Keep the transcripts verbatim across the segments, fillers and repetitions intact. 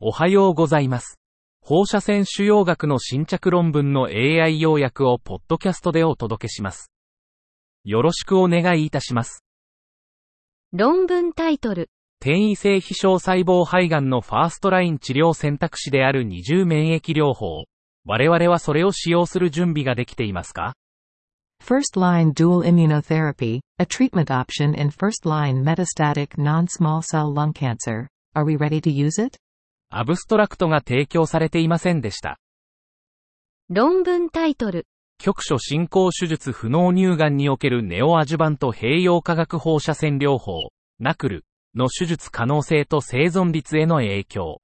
おはようございます。放射線腫瘍学の新着論文の エーアイ 要約をポッドキャストでお届けします。よろしくお願いいたします。 論文タイトル。 転移性非小細胞肺がんのファーストライン治療選択肢である二重免疫療法。我々はそれを使用する準備ができていますか？ First-line dual immunotherapy, a treatment option in first-line metastatic non-small cell lung cancer. Are we ready to use it? アブストラクトが提供されていませんでした。 論文タイトル。 局所進行手術不能乳がんにおけるネオアジュバント併用化学放射線療法、ナクル の手術可能性と生存率への影響。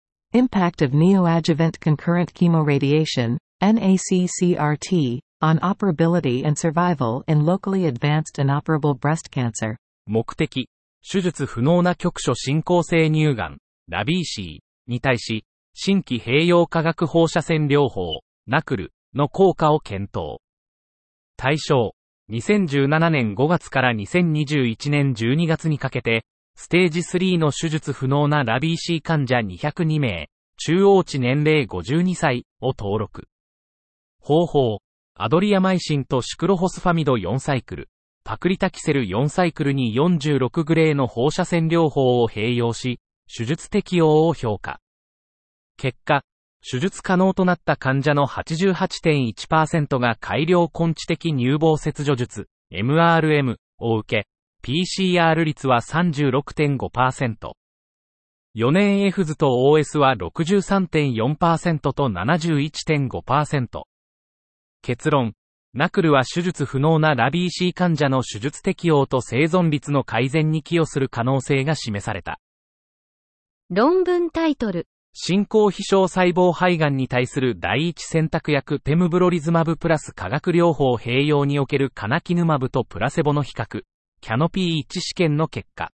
Impact of neoadjuvant concurrent chemoradiation,エヌエーシーシーアーティー, on operability and survival in locally advanced inoperable breast cancer. 目的、手術不能な局所進行性乳がん、ラビーシーに対し、新規併用化学放射線療法、ナクルの効果を検討。対象、にせんじゅうななねんごがつからにせんにじゅういちねんじゅうにがつにかけて、ステージスリーの手術不能なラビーシー患者にひゃくにめい、中央値年齢ごじゅうにさいを登録。方法、アドリアマイシンとシクロホスファミドよんサイクル、パクリタキセルよんサイクルによんじゅうろくグレーの放射線療法を併用し、手術適応を評価。結果、手術可能となった患者の はちじゅうはちてんいちパーセント が改良根治的乳房切除術、エムアールエム を受け、ピーシーアール 率は さんじゅうろくてんごパーセント。よねんエフズと オーエス は ろくじゅうさんてんよんパーセント と ななじゅういちてんごパーセント。結論、ナクルは手術不能なラビーシー患者の手術適応と生存率の改善に寄与する可能性が示された。 論文タイトル。 進行非小細胞肺がんに対する第一選択薬ペムブロリズマブプラス化学療法併用におけるカナキヌマブとプラセボの比較、キャノピーいち試験の結果。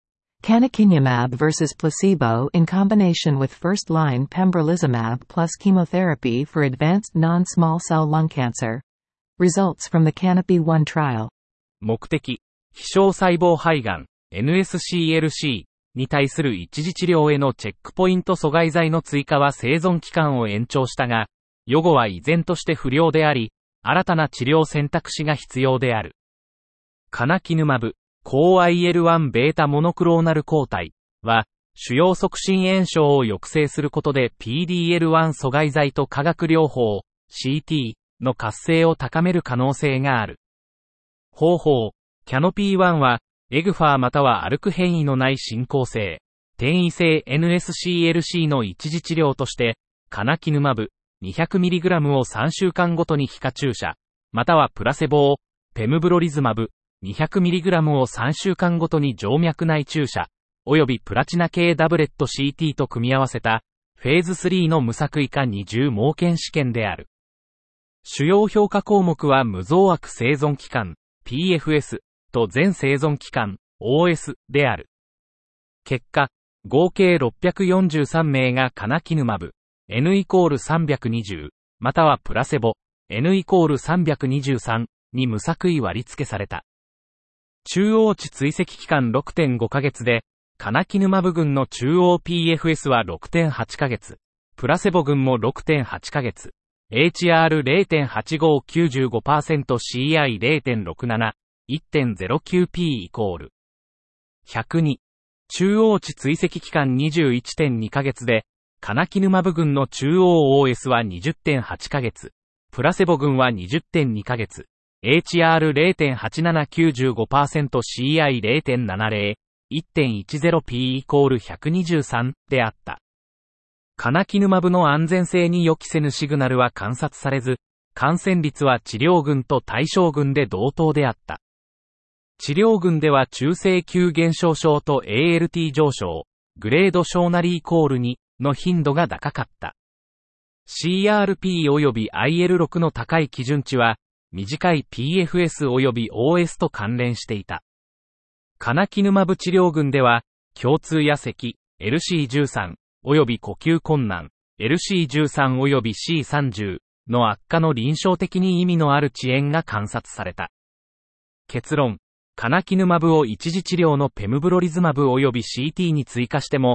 Canakinumab versus placebo in combination with first-line pembrolizumab plus chemotherapy for advanced non-small cell lung cancer. Results from the Canopyワン trial. 目的、非小細胞肺がん、エヌエスシーエルシー に対する一時治療へのチェックポイント阻害剤の追加は生存期間を延長したが、予後は依然として不良であり、新たな治療選択肢が必要である。カナキヌマブ、抗 アイエルワン ベータモノクローナル抗体は、腫瘍促進炎症を抑制することで ピーディーエルワン 阻害剤と化学療法、シーティー の活性を高める可能性がある。方法、キャノピーワンは、エグファーまたはアルク変異のない進行性、転移性 エヌエスシーエルシー の一時治療として、カナキヌマブ にひゃくミリグラム をさんしゅうかんごとに皮下注射、またはプラセボを、ペムブロリズマブ にひゃくミリグラム をさんしゅうかんごとに静脈内注射、およびプラチナ系ダブレット シーティー と組み合わせた、フェーズスリーの無作為化二重盲検試験である。主要評価項目は無増悪生存期間、ピーエフエス、と全生存期間、オーエス である。結果、合計ろっぴゃくよんじゅうさんめいがカナキヌマブ、N イコールさんびゃくにじゅう、またはプラセボ、N イコールさんびゃくにじゅうさんに無作為割り付けされた。中央値追跡期間 ろくてんごかげつで、カナキヌマブ群の中央 ピーエフエス は ろくてんはちかげつ、プラセボ群も ろくてんはちかげつ、エイチアールゼロてんはちごきゅうじゅうごパーセント、シーアイゼロてんろくなな、いってんゼロきゅうピー イコールひゃくに。中央値追跡期間 にじゅういってんにかげつで、カナキヌマブ群の中央 オーエス は にじゅってんはちかげつ、プラセボ群は にじゅってんにかげつ、エイチアールゼロてんはちななきゅうじゅうごパーセント、シーアイゼロてんななゼロ、いってんいちゼロピー イコールひゃくにじゅうさんであった。カナキヌマブの安全性に予期せぬシグナルは観察されず、感染率は治療群と対象群で同等であった。治療群では中性球減少症と エーエルティー 上昇、グレード小なりイコールにの頻度が高かった。シーアールピー 及び アイエルろく の高い基準値は、短い ピーエフエス 及び オーエス と関連していた。カナキヌマブ治療群では、胸痛や咳、エルシーじゅうさん、及び呼吸困難、エルシーじゅうさん 及び シーさんじゅう の悪化の臨床的に意味のある遅延が観察された。結論、カナキヌマブを一時治療のペムブロリズマブ及び シーティー に追加しても、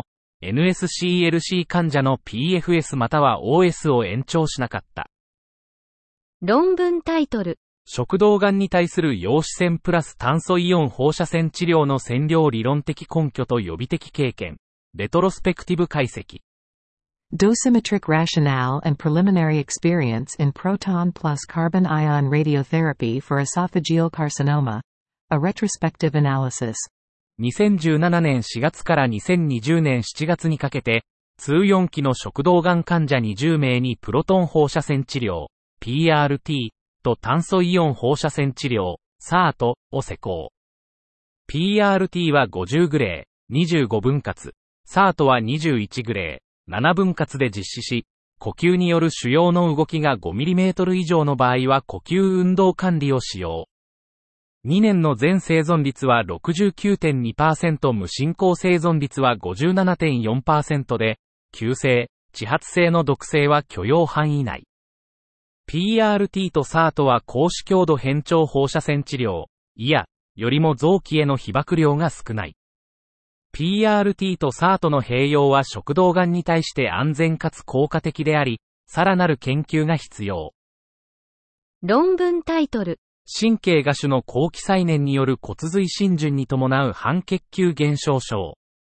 エヌエスシーエルシー 患者の ピーエフエス または オーエス を延長しなかった。 論文タイトル。 食道がんに対する陽子線プラス炭素イオン放射線治療の線量理論的根拠と予備的経験。レトロスペクティブ解析。 Dosimetric rationale and preliminary experience in proton plus carbon ion radiotherapy for esophageal carcinoma. A retrospective analysis. にせんじゅうななねんしがつからにせんにじゅうねんしちがつにかけて、通よん期の食道がん患者にじゅうめいにプロトン放射線治療、ピーアールティー と炭素イオン放射線治療、サート を施行。ピーアールティー はごじゅうグレー、にじゅうごぶん割、サートはにじゅういちグレー、ななぶん割で実施し、呼吸による腫瘍の動きが ごミリメートル 以上の場合は呼吸運動管理を使用。にねんの全生存率は ろくじゅうきゅうてんにパーセント、無進行生存率は ごじゅうななてんよんパーセント で、急性、遅発性の毒性は許容範囲内。ピーアールティー と サート は高視強度変調放射線治療、いや、よりも臓器への被曝量が少ない。ピーアールティー と サート の併用は食道がんに対して安全かつ効果的であり、さらなる研究が必要。 論文タイトル。 神経芽腫の後期再燃による骨髄浸潤に伴う半血球減少症。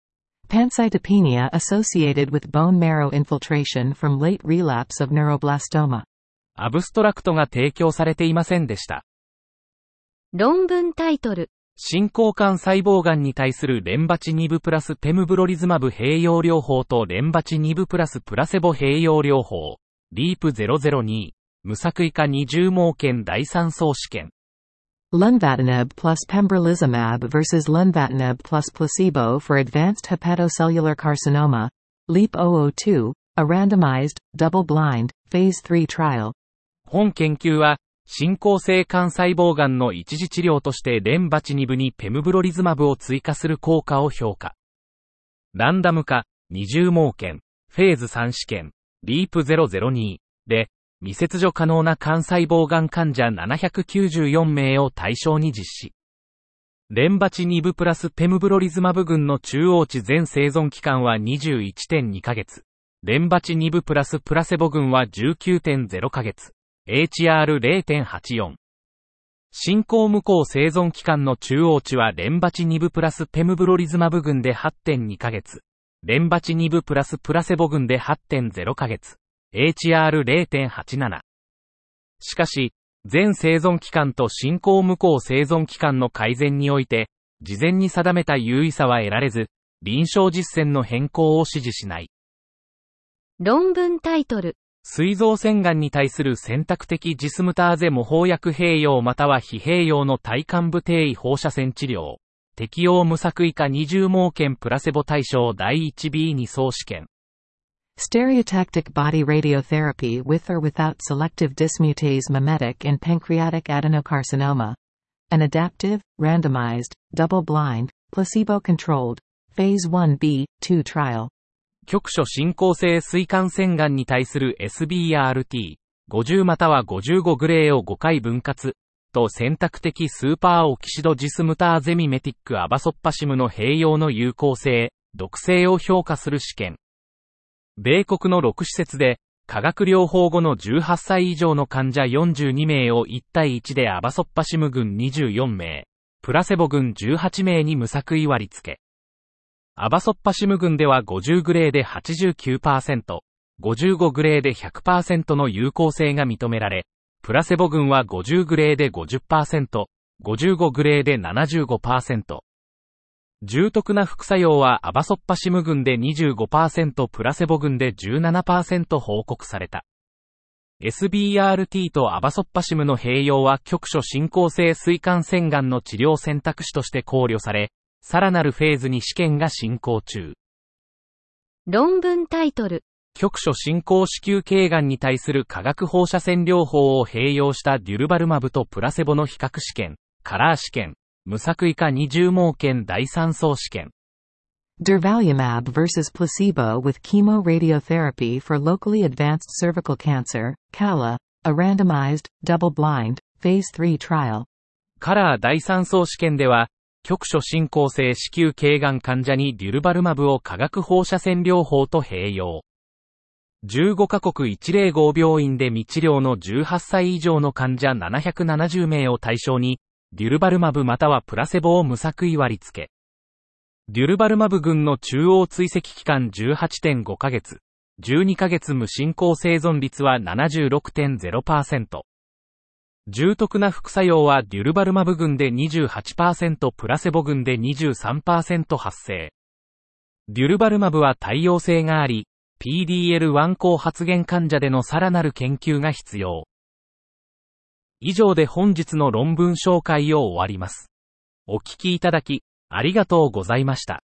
Pancytopenia associated with bone marrow infiltration from late relapse of neuroblastoma. アブストラクトが提供されていませんでした。 論文タイトル。 進行間細胞がんに対するレンバチニブプラスペムブロリズマブ併用療法とレンバチニブプラスプラセボ併用療法。リープゼロゼロに。無作為化二重盲検第三相試験。 Lenvatinib plus pembrolizumab versus lenvatinib plus placebo for advanced hepatocellular carcinoma.リープゼロゼロに。A randomized, double-blind, phase three trial. 本研究は、進行性肝細胞がんの一時治療としてレンバチニブにペムブロリズマブを追加する効果を評価。ランダム化、二重盲検、フェーズさん試験、リープゼロゼロにで、未切除可能な肝細胞がん患者ななひゃくきゅうじゅうよんめいを対象に実施。レンバチニブプラスペムブロリズマブ群の中央値全生存期間は にじゅういってんにかげつ。レンバチニブプラスプラセボ群は じゅうきゅうてんゼロかげつ。エイチアールゼロてんはちよん。進行無効生存期間の中央値はレンバチニブプラスペムブロリズマブ群で はちてんにかげつ。レンバチニブプラスプラセボ群で はちてんゼロかげつ。エイチアールゼロてんはちなな。しかし、全生存期間と進行無効生存期間の改善において、事前に定めた優位さは得られず、臨床実践の変更を指示しない。 論文タイトル。 膵臓腺がんに対する選択的ジスムターゼ模倣薬併用または非併用の体幹部低位放射線治療。適用無作為化二重盲検プラセボ対象だいいちビーに相試験。 Stereotactic body radiotherapy with or without selective dismutase mimetic in pancreatic adenocarcinoma. An adaptive, randomized, double-blind, placebo-controlled, phase one B two trial. 局所進行性膵管腺がんに対する エスビーアールティー、ごじゅうまたはごじゅうごグレーをごかい分割、と選択的スーパーオキシドジスムターゼミメティックアバソッパシムの併用の有効性、毒性を評価する試験。米国のろく施設で、化学療法後のじゅうはっさい以上の患者よんじゅうにめいをいちたいいちでアバソッパシム群にじゅうよんめい、プラセボ群じゅうはちめいに無作為割り付け。アバソッパシム群ではごじゅうグレーで はちじゅうきゅうパーセント、ごじゅうごグレーで ひゃくパーセント の有効性が認められ、プラセボ群はごじゅうグレーで ごじゅっパーセント、ごじゅうごグレーで ななじゅうごパーセント。重篤な副作用はアバソッパシム群で にじゅうごパーセント、プラセボ群で じゅうななパーセント 報告された。エスビーアールティー とアバソッパシムの併用は局所進行性膵管腺がんの治療選択肢として考慮され、さらなるフェーズに試験が進行中。 論文タイトル。 局所進行子宮頸がんに対する化学放射線療法を併用したデュルバルマブとプラセボの比較試験、カラー試験、無作為化二重盲検第三相試験。 Durvalumab versus placebo with chemoradiotherapy for locally advanced cervical cancer, C A L A, a randomized, double-blind, phase three trial. カラー第三相試験では、 局所進行性子宮頸がん患者にデュルバルマブを化学放射線療法と併用。じゅうごカ国いちまるご病院で未治療のじゅうはっさい以上の患者ななひゃくななじゅうめいを対象に、デュルバルマブまたはプラセボを無作為割付。デュルバルマブ群の中央追跡期間 じゅうはちてんごかげつ、じゅうにかげつ無進行生存率は ななじゅうろくてんゼロパーセント。重篤な副作用はデュルバルマブ群で にじゅうはちパーセント、プラセボ群で にじゅうさんパーセント 発生。デュルバルマブは対応性があり、ピーディーエルワン 高発現患者でのさらなる研究が必要。以上で本日の論文紹介を終わります。お聞きいただき、ありがとうございました。